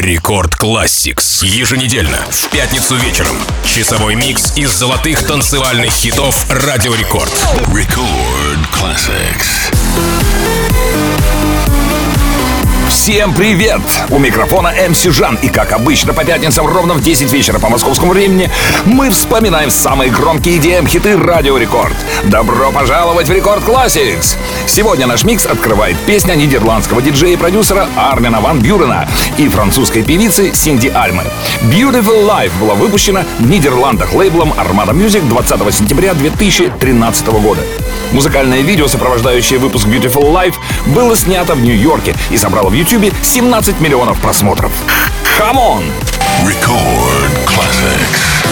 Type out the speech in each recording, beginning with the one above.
Рекорд Classics. Еженедельно, в пятницу вечером. Часовой микс из золотых танцевальных хитов Радио Рекорд. Record Classics. Всем привет! У микрофона МС Жан. И как обычно по пятницам ровно в 10 вечера по московскому времени мы вспоминаем самые громкие EDM-хиты Радио Рекорд. Добро пожаловать в Рекорд Classics! Сегодня наш микс открывает песня нидерландского диджея и продюсера Армина Ван Бюрена и французской певицы Синди Альмы. Beautiful Life была выпущена в Нидерландах лейблом Armada Music 20 сентября 2013 года. Музыкальное видео, сопровождающее выпуск Beautiful Life, было снято в Нью-Йорке и собрало в YouTube 17 миллионов просмотров. Come on! Record Classics.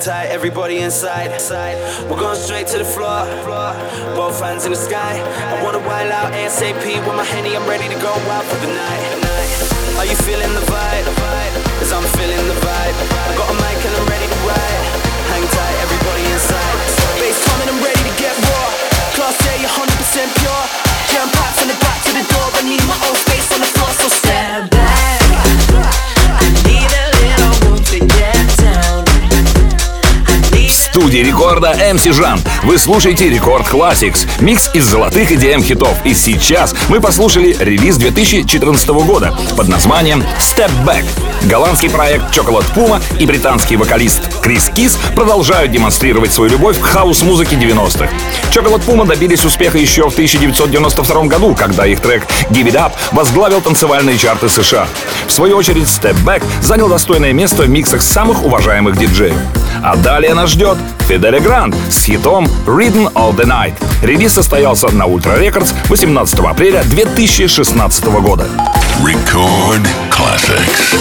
tight, everybody inside. We're going straight to the floor. Both hands in the sky. I wanna wild out ASAP with my Henny. I'm ready to go wild for the night. Are you feeling the vibe? Cause I'm feeling the vibe. I got a mic and I'm ready to ride. Hang tight, everybody inside. Bass coming, I'm ready to get raw. Class A, 100% pure. Jam packed from the back to the door. I need my own space on the floor, so stand back. I need a little room to get down. В студии рекорда MC Жан. Вы слушаете Рекорд Classics, микс из золотых EDM-хитов. И сейчас мы послушали релиз 2014 года под названием Step Back. Голландский проект Chocolate Puma и британский вокалист Крис Кис продолжают демонстрировать свою любовь к хаус-музыке 90-х. Chocolate Puma добились успеха еще в 1992 году, когда их трек Give It Up возглавил танцевальные чарты США. В свою очередь, Step Back занял достойное место в миксах самых уважаемых диджеев. А далее нас ждет Фиделе Гранд с хитом Rhythm of the Night. Релиз состоялся на Ultra Records 18 апреля 2016 года. Record Classics.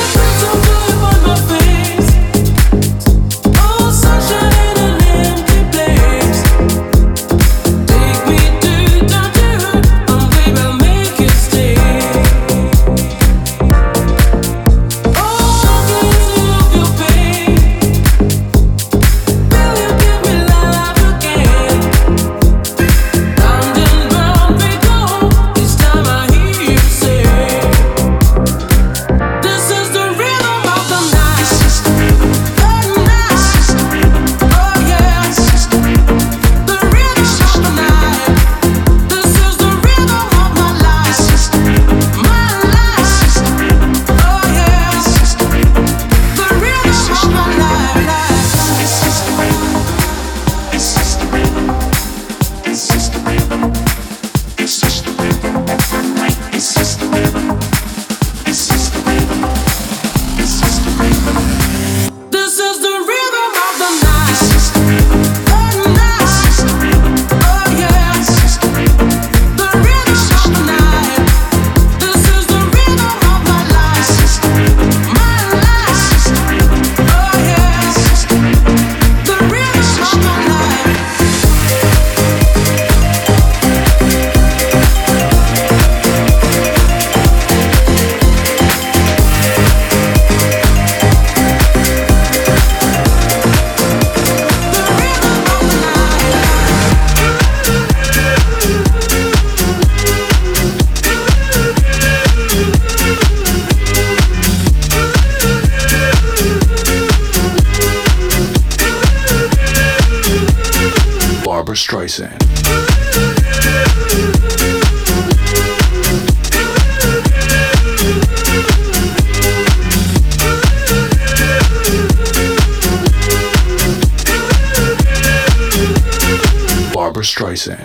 Barbra Streisand. Barbra Streisand.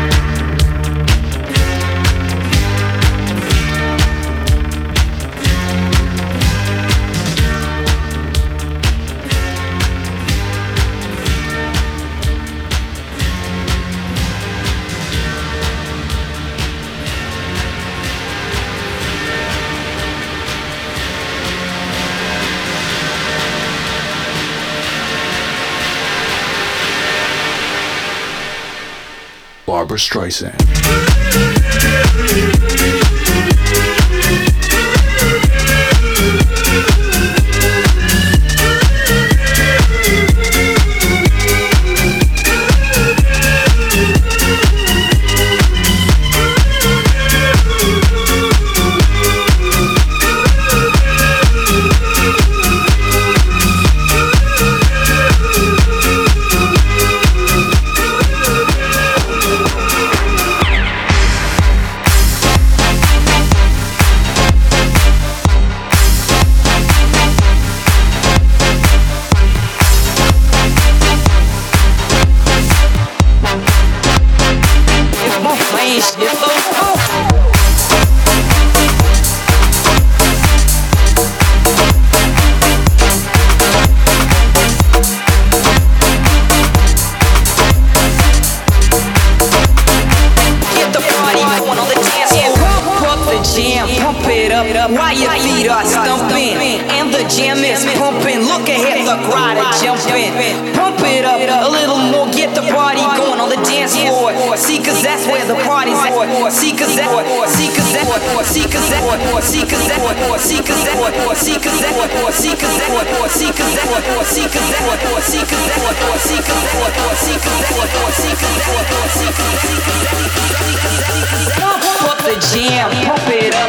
Barbra Streisand. while your feet are stumping and the jam is pumping. Look ahead, the crowd are jumping. Pump it up a little more, get the party going on the dance floor. See, cause that's where the party's at. See, cause that, see, cause that, see, cause that, see, cause that, see, cause that, see, cause that, see, cause that, see, cause that, see, cause that, see, cause that, see, cause that, see, cause that, pump up the jam, pump it up.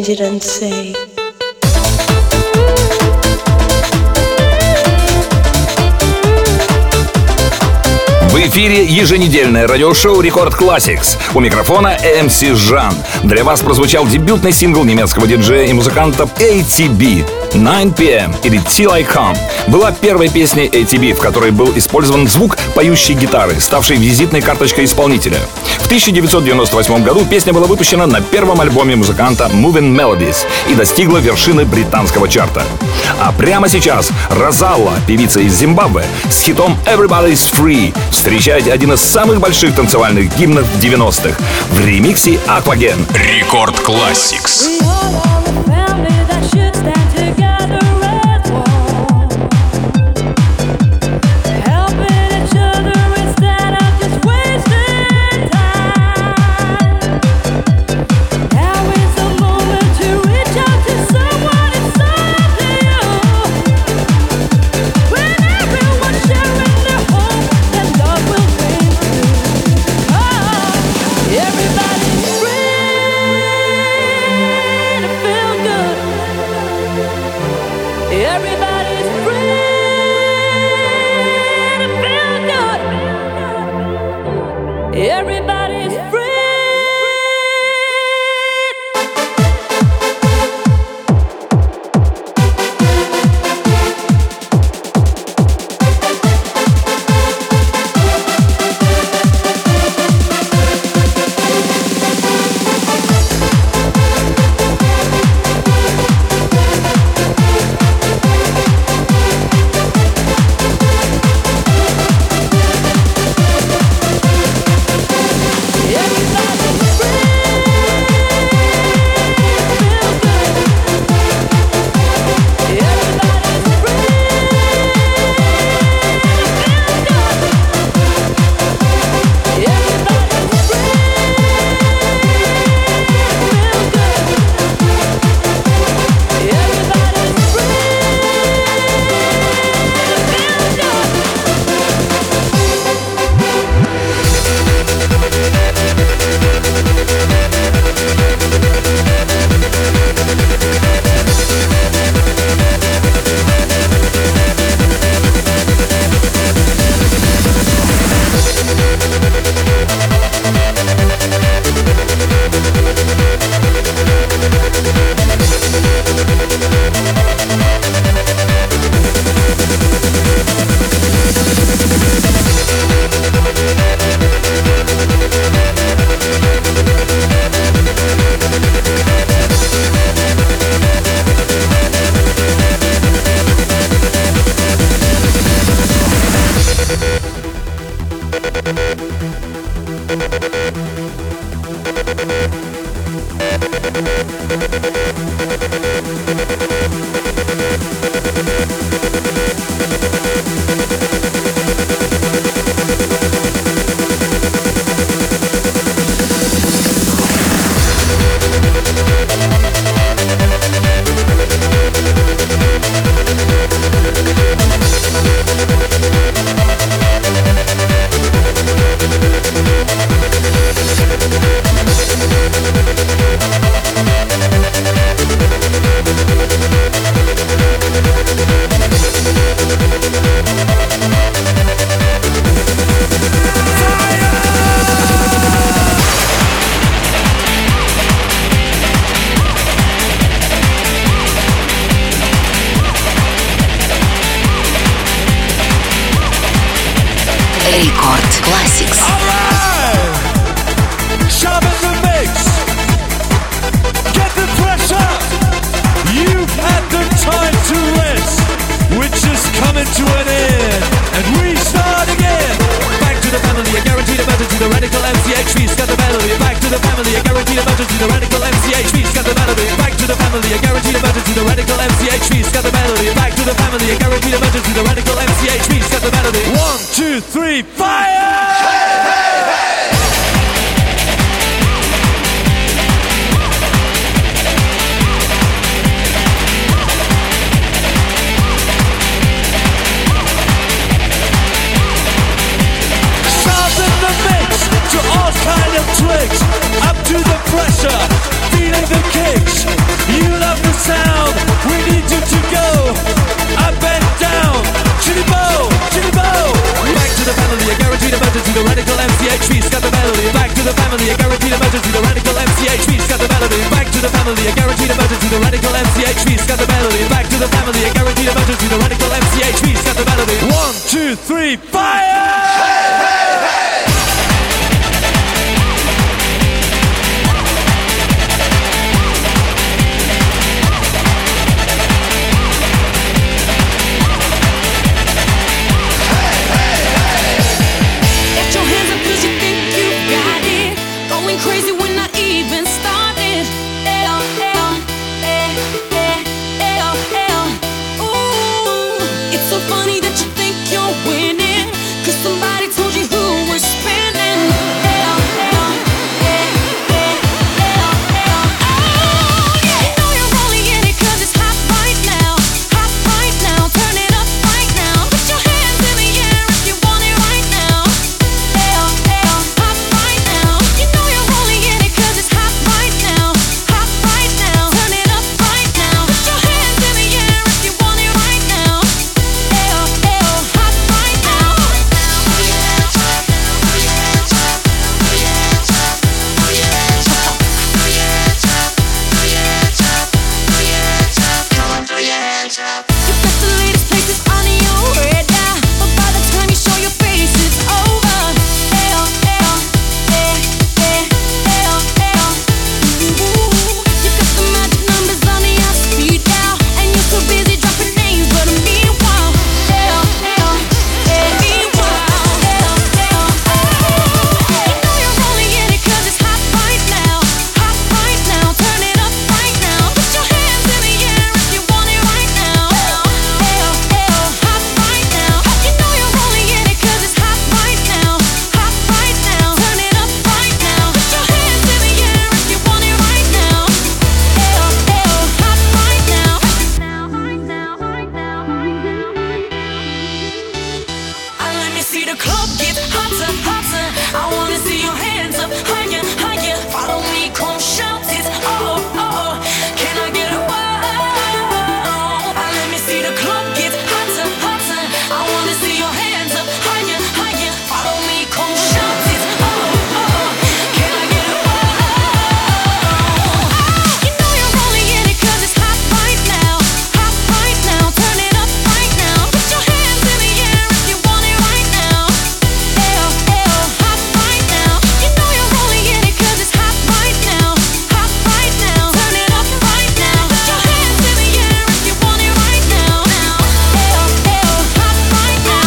change it and say. В эфире еженедельное радиошоу Record Classics. У микрофона MC Жан. Для вас прозвучал дебютный сингл немецкого диджея и музыканта ATB. 9 PM или Till I Come была первой песней ATB, в которой был использован звук поющей гитары, ставшей визитной карточкой исполнителя. В 1998 году песня была выпущена на первом альбоме музыканта Moving Melodies и достигла вершины британского чарта. А прямо сейчас Розалла, певица из Зимбабве, с хитом Everybody's Free встречает один из самых больших танцевальных гимнов 90-х в ремиксе Aquagen. Рекорд Classics. Record Classics. Sharpen the mix. Get the pressure. You've had the time to rest, which is coming to an end, and we start again. Back to the family, a guaranteed emergency. The radical MCHV's got the melody. Back to the family, a guaranteed emergency. The radical MCHV's got the melody. Back to the family, a guaranteed emergency. The radical MCHV's got the melody. Back to the family, a guaranteed emergency. The radical MCHV's got the melody. 1, 2, 3, fire! Hey, hey, hey! Sharpen the mix to all kind of tricks. Up to the pressure, feeling the kicks. emergency, the radical MCHV's got the melody. Back to the family, a guaranteed emergency, the radical MCHV's got the melody. Back to the family, a guaranteed emergency, the radical MCHV's got the melody. 1, 2, 3, fire! Crazy when I even started. Ooh, it's so funny that you think you're winning, 'cause somebody told you who was spinning. Oh, yeah. You know you're only in it 'cause it's hot right now. Hot right now. Turn it up right now. Put your hands in the air if you want it right now. Hot right now. You know you're only in it 'cause it's hot right now. Hot right now. Turn it up right now. Put your hands in the air if you want it right now. Hot right now. You got the latest places on your radar, but by the time you show your face, it's over. You got the magic numbers on your speed dial, and you're so busy dropping names, but meanwhile, you know you're only in it 'cause it's hot right now. Hot right now. Turn it up right now. Put your hands in the air if you want it right now. Hot right now. You know you're only in it 'cause it's hot right now. Hot right now. Turn it up right now. Put your hands in the air if you want it right now. Hot right now. Let me see the club get hotter, hotter. I wanna see your hands up higher, higher. Follow me, come shout it. Oh, oh. Can I get a wow? Let me see the club get hotter, hotter. I wanna see your hands up higher, higher. Follow me, come shout it. Oh, oh. Can I get a wow? You know you're only in it 'cause it's hot right now. Hot right now. Turn it up right now. Put your hands in the air if you want it right now. Hot right now. You know you're only in it 'cause it's hot right now. Hot right now. Turn it up right now. Put your hands in the air if you want it right now. Hot right now.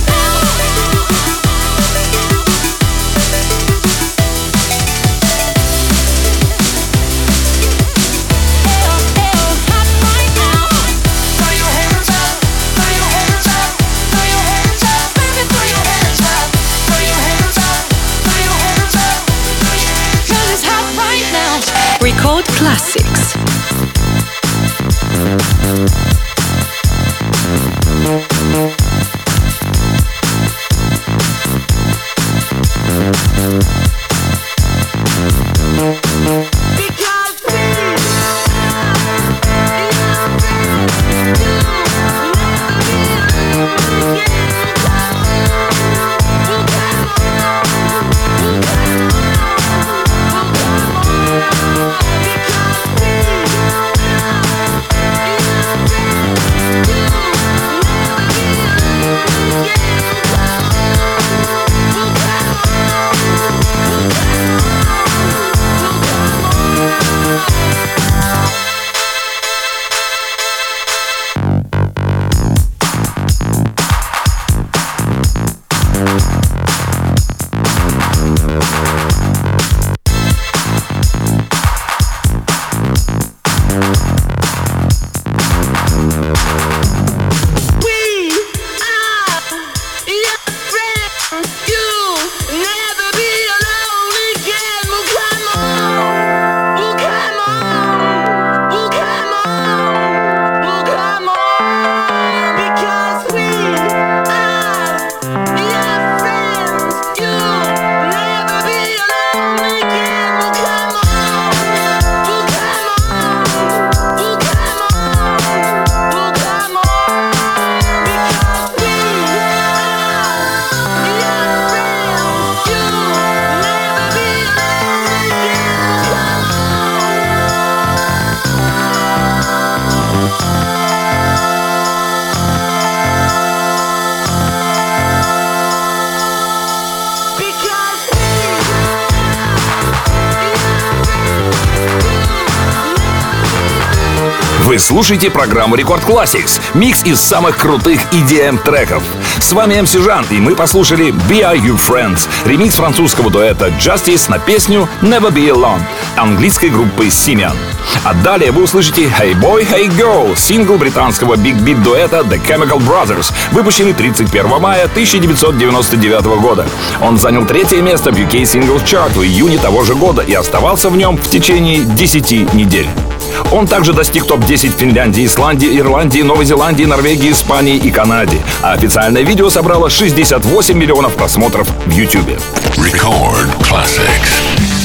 Hot right now. Throw your hands up. Throw your hands up. Throw your hands up. Baby, throw your hands up. Throw your hands up. Throw your hands up. 'Cause it's hot right now. Record Classics. Because Вы слушаете программу Рекорд Classics, микс из самых крутых EDM-треков. С вами MC Жан, и мы послушали Be Are You Friends, ремикс французского дуэта Justice на песню Never Be Alone английской группы Simian. А далее вы услышите Hey Boy, Hey Girl, сингл британского биг-бит дуэта The Chemical Brothers, выпущенный 31 мая 1999 года. Он занял 3-е место в UK Singles Chart в июне того же года и оставался в нем в течение 10 недель. Он также достиг топ-10 в Финляндии, Исландии, Ирландии, Новой Зеландии, Норвегии, Испании и Канаде. А официальное видео собрало 68 миллионов просмотров в YouTube. Record Classics.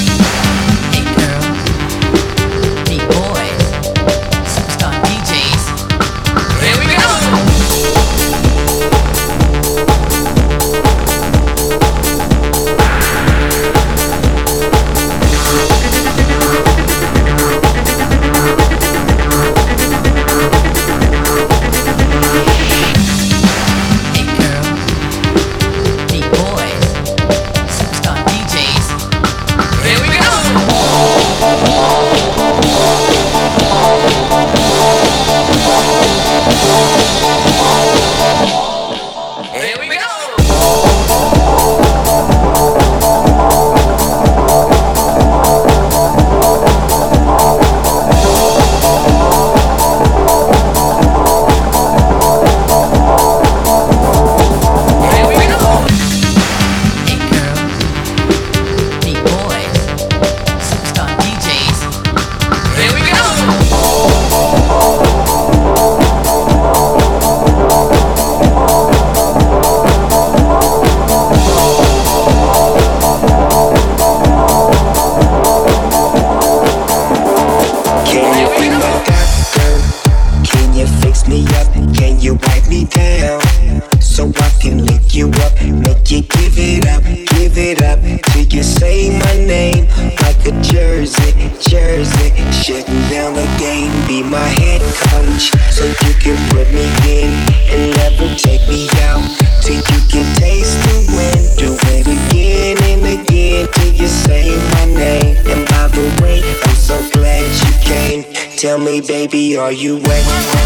Tell me, baby, are you wet?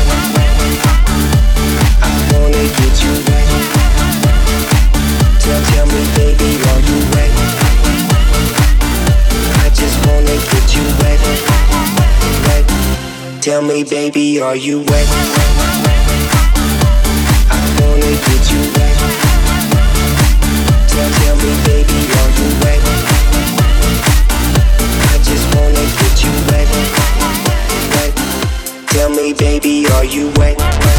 I wanna get you wet. Tell me, baby, are you wet? I just wanna get you wet, wet. Tell me, baby, are you wet? I wanna get you wet. Tell me, baby, are you wet? I just wanna get you wet. Tell me, baby, are you wet?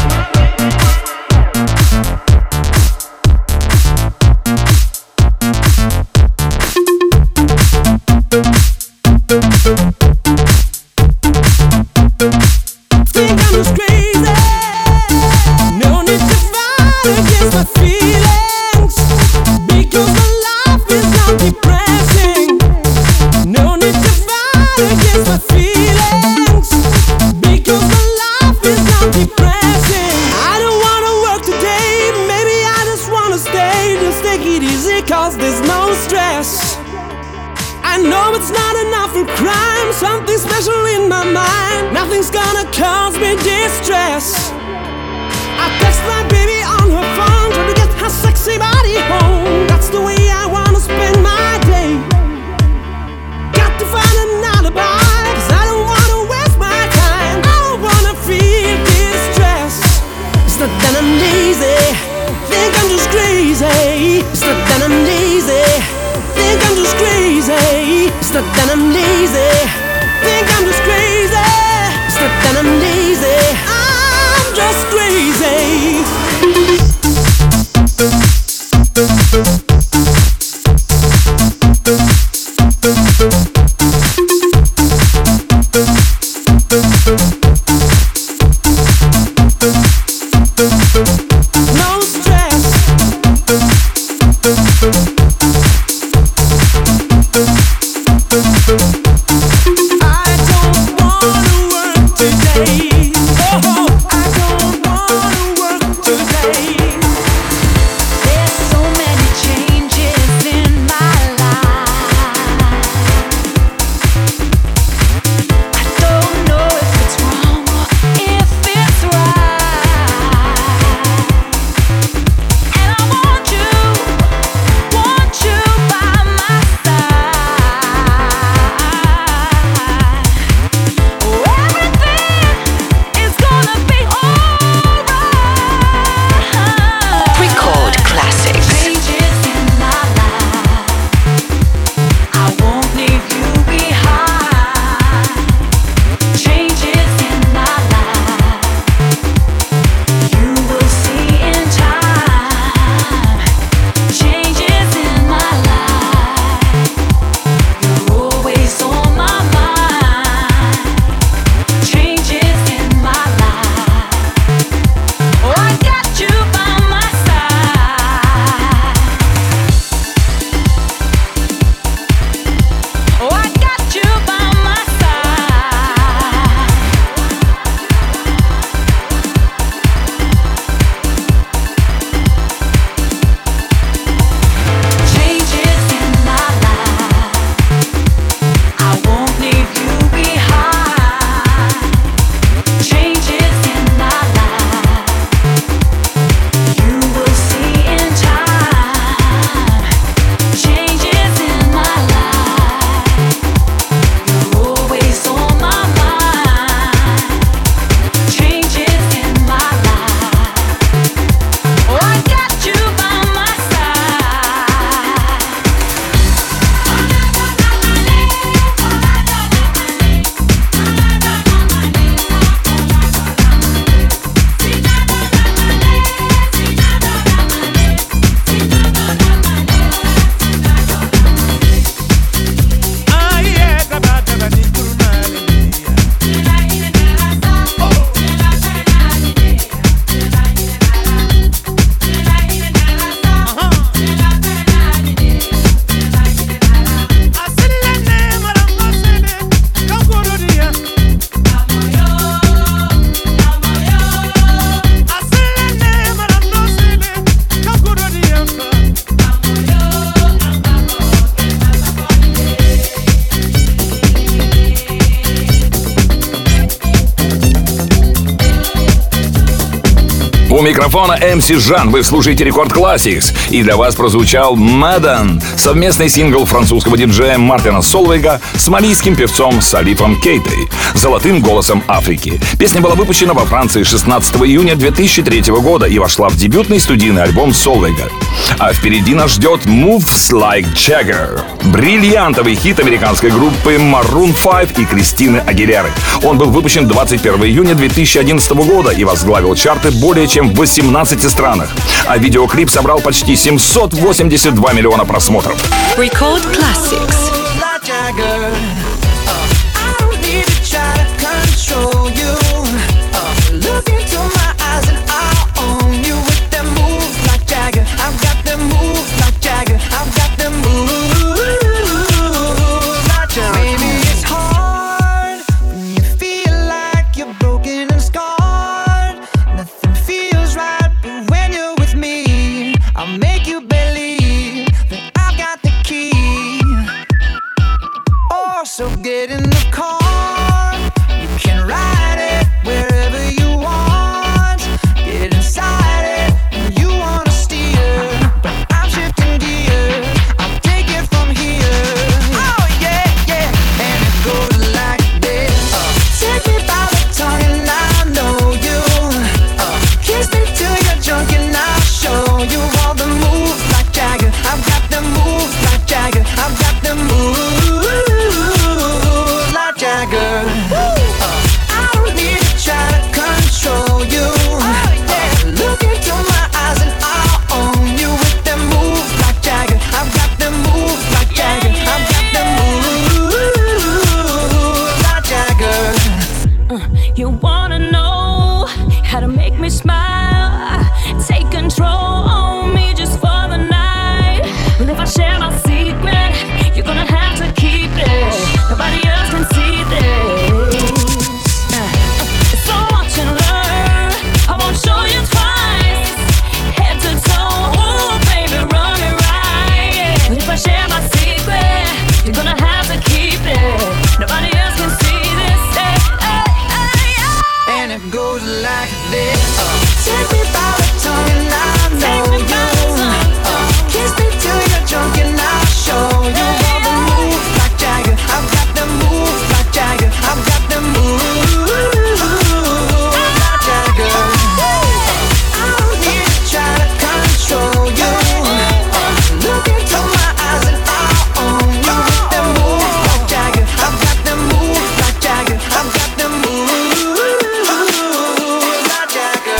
Think I'm just crazy. No need to fight against my feelings, because my life is not depressing. No need to fight against my feelings, because my life is not depressing. I don't wanna work today, maybe I just wanna stay. Just take it easy, cause there's no stress. I know it's not enough for crime, something special in my mind. Nothing's gonna cause me distress. I text my baby on her phone, trying to get her sexy body home. That's the way I wanna spend my day. Got to find an alibi, cause I don't wanna waste my time. I don't wanna feel distress. It's not that I'm lazy, think I'm just crazy. It's not that I'm lazy, think I'm just crazy. It's not that I'm lazy, think I'm just crazy. It's not that I'm lazy, I'm just crazy. No stress. I don't wanna work today. Oh, I don't wanna work today. У микрофона MC Жан, вы слушаете Рекорд Classics. И для вас прозвучал Madden, совместный сингл французского диджея Мартина Солвейга с малийским певцом Салифом Кейтой, золотым голосом Африки. Песня была выпущена во Франции 16 июня 2003 года и вошла в дебютный студийный альбом Солвейга. А впереди нас ждет Moves Like Jagger, бриллиантовый хит американской группы Maroon 5 и Кристины Агилеры. Он был выпущен 21 июня 2011 года и возглавил чарты более чем в 18 странах. А видеоклип собрал почти 782 миллиона просмотров. Record Classics. So get in the car, you can ride it wherever you want. Get inside it, and you wanna steer, but I'm shifting gears, I'll take it from here. Oh yeah, yeah, and it goes like this. Take me by the tongue and I know you. Kiss me till you're drunk and I'll show you all the moves like Jagger. I've got the moves like Jagger. I've got the moves. I don't need to try to control you. Look into my eyes and I'll own you with them moves like Jagger. I've got them moves like Jagger. I've got them moves like Jagger. You wanna know how to make me smile? Take control on me just for the night. Well, if I share my secret, you're gonna have to keep it. Nobody else can see this. So watch and learn. I won't show you twice. Head to toe, ooh, baby, run it right. But if I share my secret, you're gonna have to keep it. Nobody else can see this. And it goes like this. Take me by the tongue and I know you. Kiss me till you're drunk and I'll show you all the moves like Jagger. I've got the moves like Jagger. I've got the moves like Jagger. I don't need to try to control you. Look into my eyes and I'll own you with the moves like Jagger. I've got the moves like Jagger. I've got the moves like Jagger.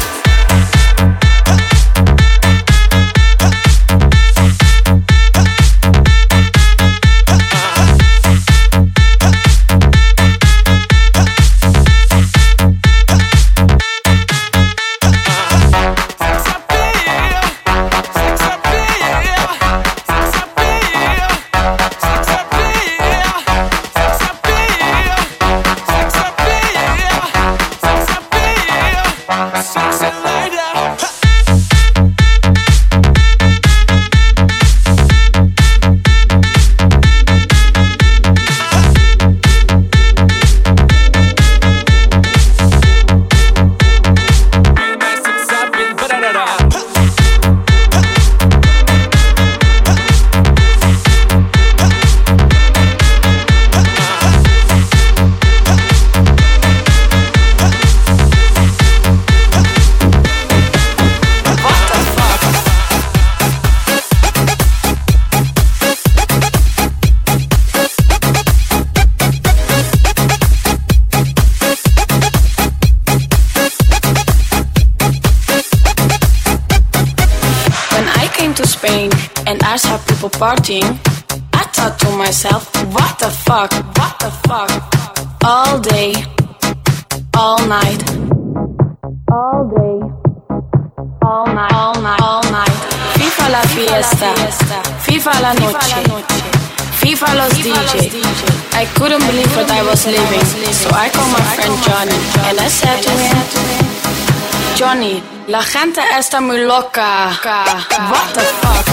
And I saw people partying. I thought to myself, what the fuck, what the fuck? All day, all night, all day, all night, all night, all night. FIFA la fiesta, FIFA la noche, FIFA los DJ. I couldn't believe what I was living, so I called my friend Johnny and I said to him, Johnny, la gente está muy loca. What the fuck?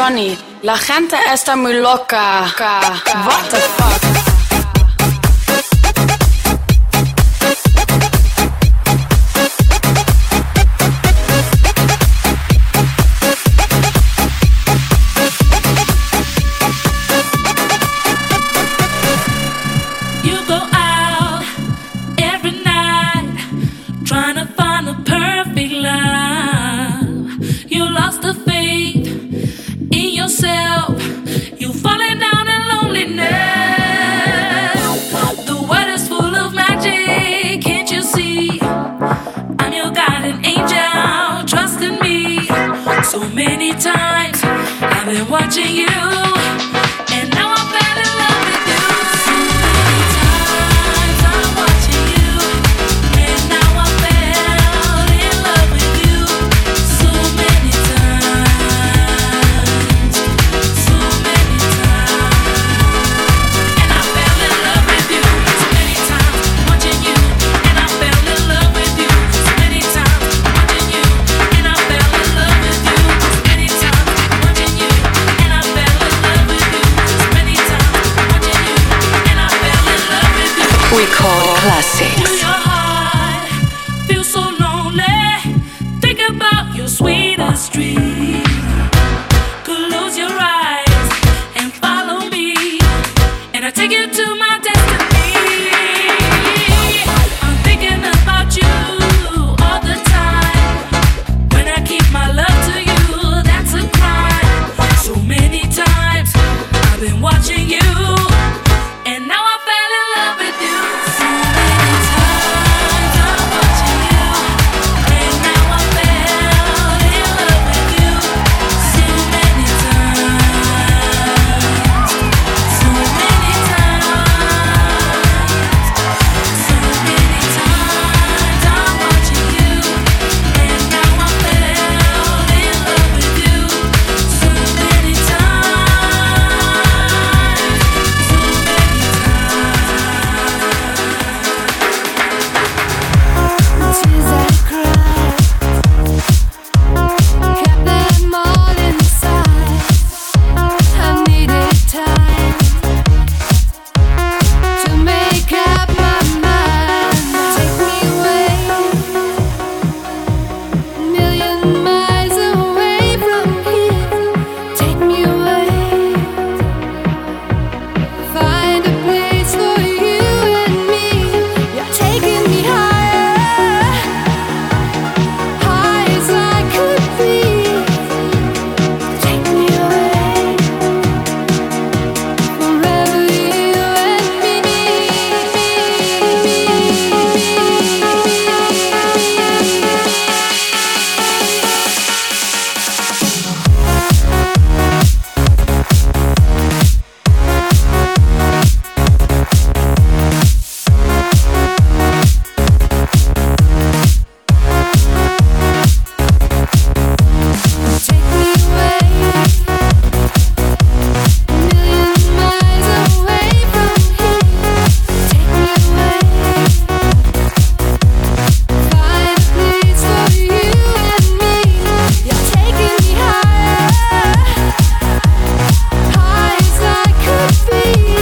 Johnny, la gente está muy loca. What the fuck? You're falling down in loneliness. The world is full of magic, can't you see? I'm your guardian angel, trust in me. So many times I've been watching you, and now I fell in love with you. So many times I'm watching you, and now I fell in love with you. So many times, so many times, and I fell in love with you. So many times watching you, and I fell in love with you. So many times watching you, and I fell in love with you. So many times watching you, and I fell in love with you. So many times watching you, and I fell in love with you. Record Classics. Feel your heart, feel so lonely. Think about your sweetest dream. Close your eyes and follow me, and I take you to my destiny. I'm thinking about you all the time. When I keep my love to you, that's a crime. So many times I've been watching you, and now I fell in love with you. So many times I'm watching you, and now I fell in love with you. So many times, so many times, so many times I'm watching you, and now I fell in love with you. So many Tears I cried, kept them all inside. I needed time to make up my mind. Take me away, a million miles away from here. Take me away, find a place for you and me. You're taking me higher, high as I could be. Take me away, forever you and me. Take me away, a million miles away from here. Take me away, find a place for you and me. You're taking me higher, high as I could be.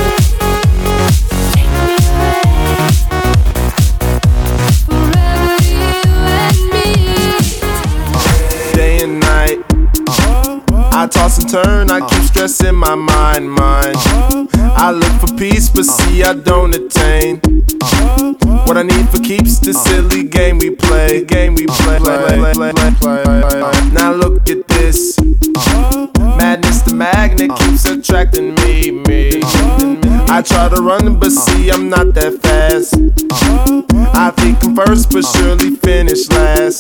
Take me away, forever you and me. Day and night, I toss and turn, I keep stressing my mind. I look for peace, but see I don't attain. What I need for keeps the silly game we play. Now look at this, madness, the magnet keeps attracting me. I try to run, but see I'm not that fast. I think I'm first, but surely finish last.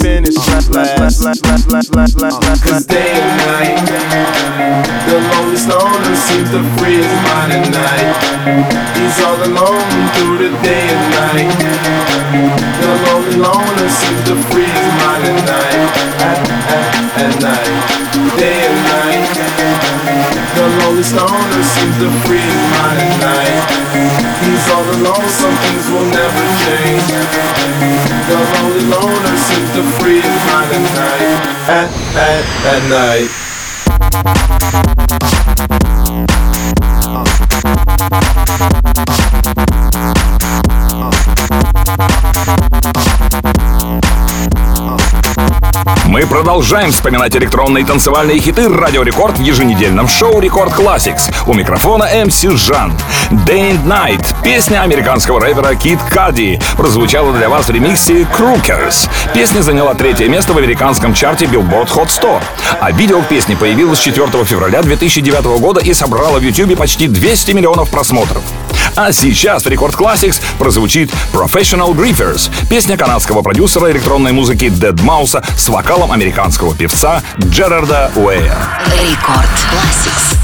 Cause day and night, the lonely stoner seems to free his mind at night. He's all alone through the day and night. The lonely loner seems to free his mind at night. At night, day and night. The lonely stoner seems to free his mind at night. He's all alone, some things will never change. The lonely loner seems to free his mind at night. At night. Мы продолжаем вспоминать электронные и танцевальные хиты Радио Рекорд в еженедельном шоу Рекорд Classics. У микрофона MC Жан. Day and Night, песня американского рэпера Kid Cudi, прозвучала для вас в ремиксе Crookers. Песня заняла 3-е место в американском чарте Billboard Hot 100. А видео к песне появилось 4 февраля 2009 года и собрало в YouTube почти 200 миллионов просмотров. А сейчас в Рекорд Classics прозвучит Professional Griefers, песня канадского продюсера электронной музыки Deadmau5 с вокалом американского певца Джерарда Уэя. Рекорд Classics.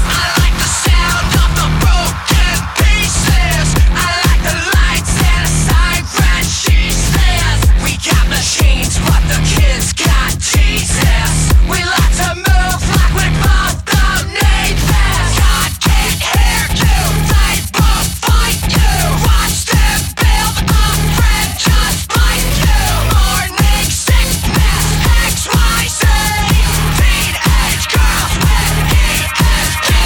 XYZ, teenage girls with ESP.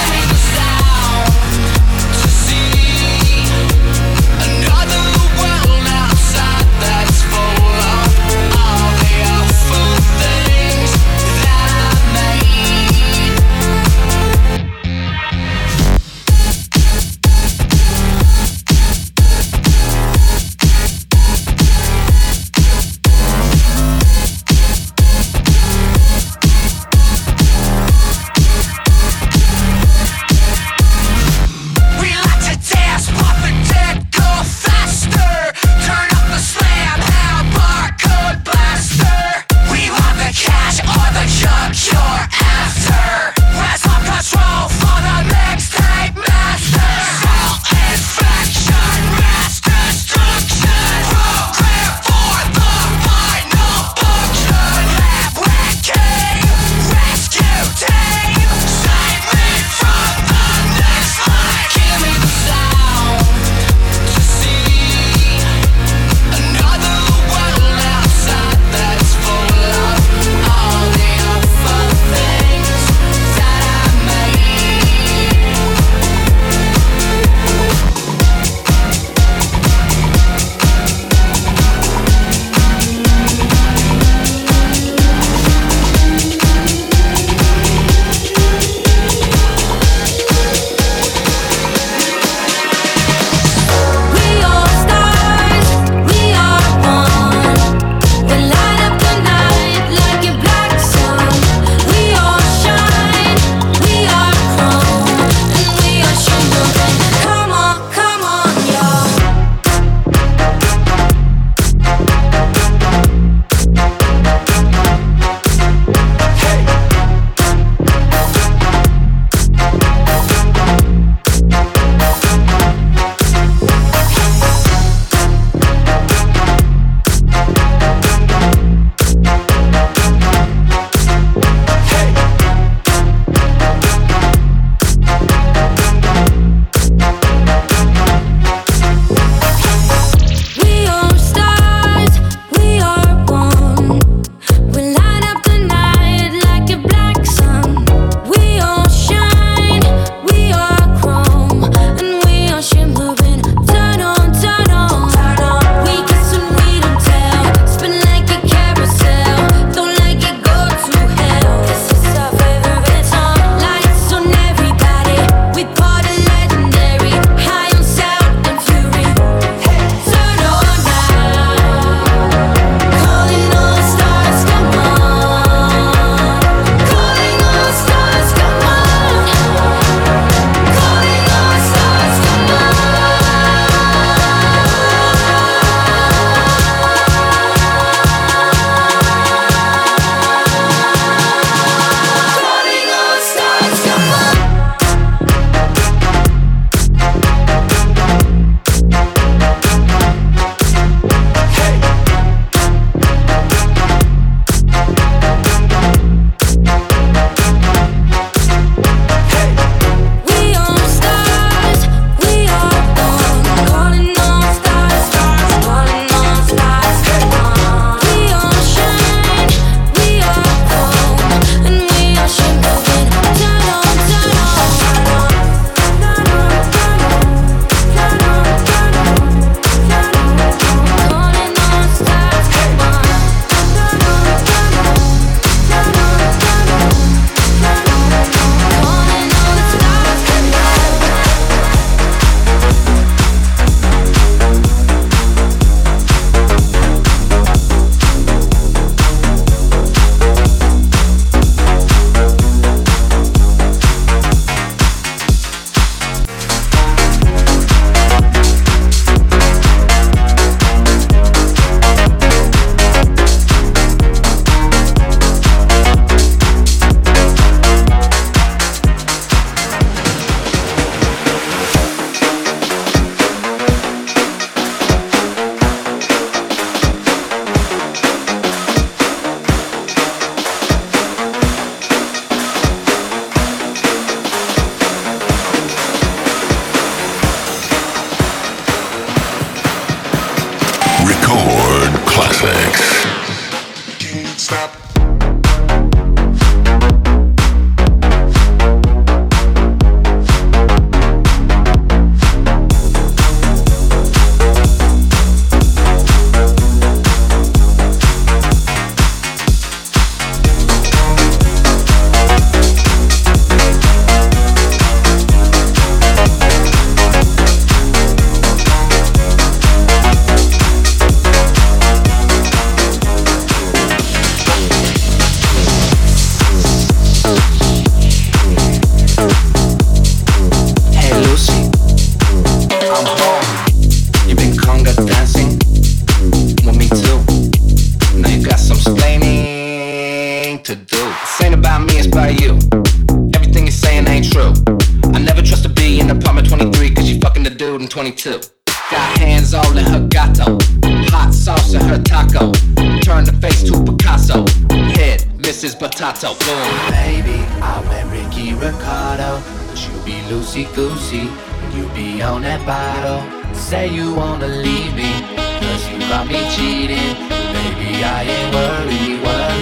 22. Got hands all in her gato, hot sauce in her taco. Turn the face to Picasso, head Mrs. Potato. Boom. Baby, I met Ricky Ricardo, but you be loosey goosey, you be on that bottle. Say you wanna leave me, cause you got me cheating. Baby, I ain't worried.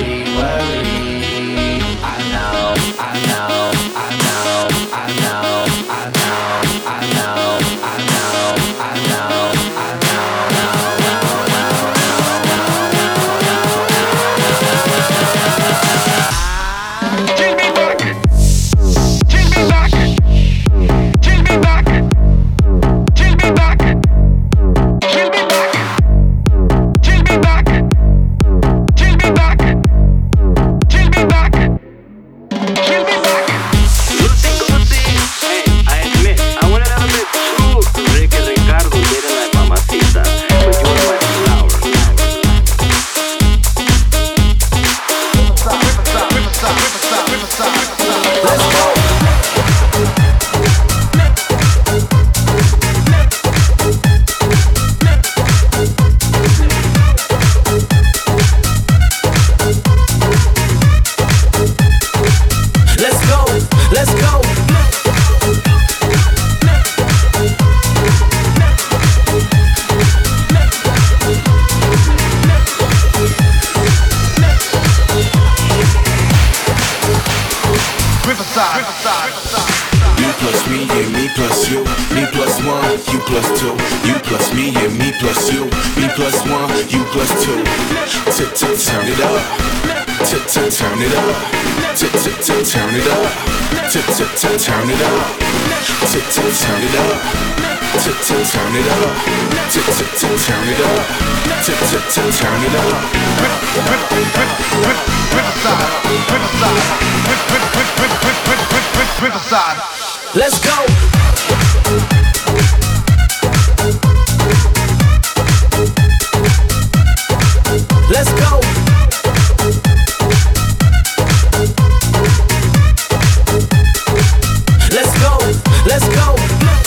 I know, I know, I know, I know, I know, I know, I know, I know, I Take me back, take me back, take me back, take me back, take me back, take me back, take me back, take me back, take me back. Hey, I admit, I wanted a bit too. Ricky Ricardo didn't like Mamacita, but you were my flower. Let's go. Let's go, let's go. You plus me, yeah, me plus you. Me plus one, you plus two. You plus me, yeah, me plus you. Me plus one, you plus two. Turn it up. Turn it up. Turn it up. Turn it up. Turn it up. Turn it up. Let's go. Let's go. Let's go. Let's go.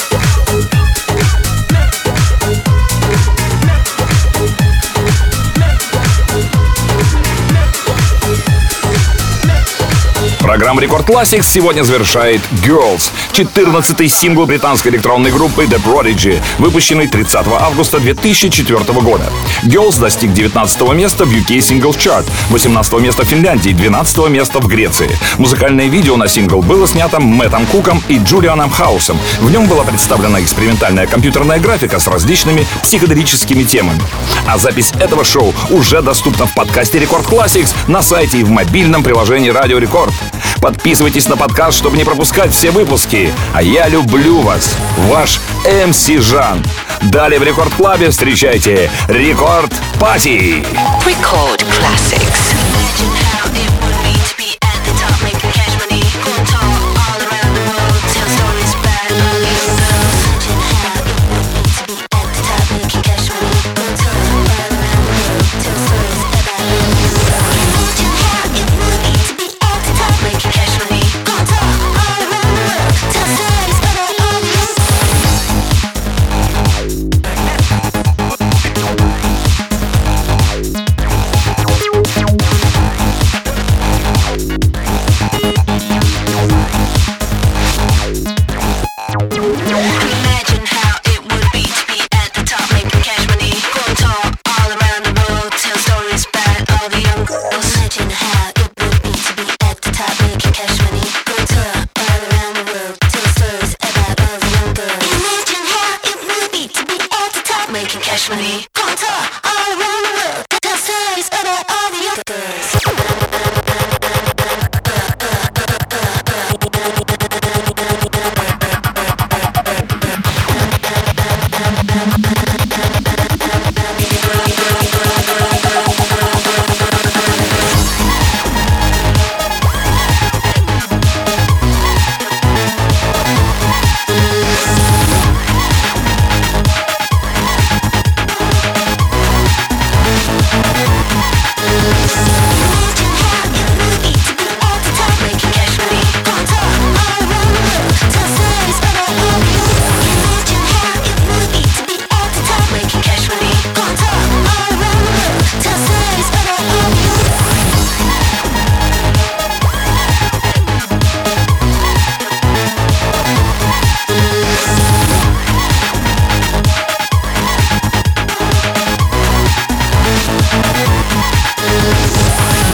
Программа Рекорд Classics сегодня завершает Girls, 14-й сингл британской электронной группы The Prodigy, выпущенный 30 августа 2004 года. Girls достиг 19 места в UK Singles Chart, 18 места в Финляндии, 12 места в Греции. Музыкальное видео на сингл было снято Мэттом Куком и Джулианом Хаусом. В нем была представлена экспериментальная компьютерная графика с различными психоделическими темами. А запись этого шоу уже доступна в подкасте Рекорд Classics на сайте и в мобильном приложении Радио Рекорд. Подписывайтесь на подкаст, чтобы не пропускать все выпуски. А я люблю вас, ваш МС Жан. Далее в Рекорд Клабе встречайте Рекорд Пати. Record Classics.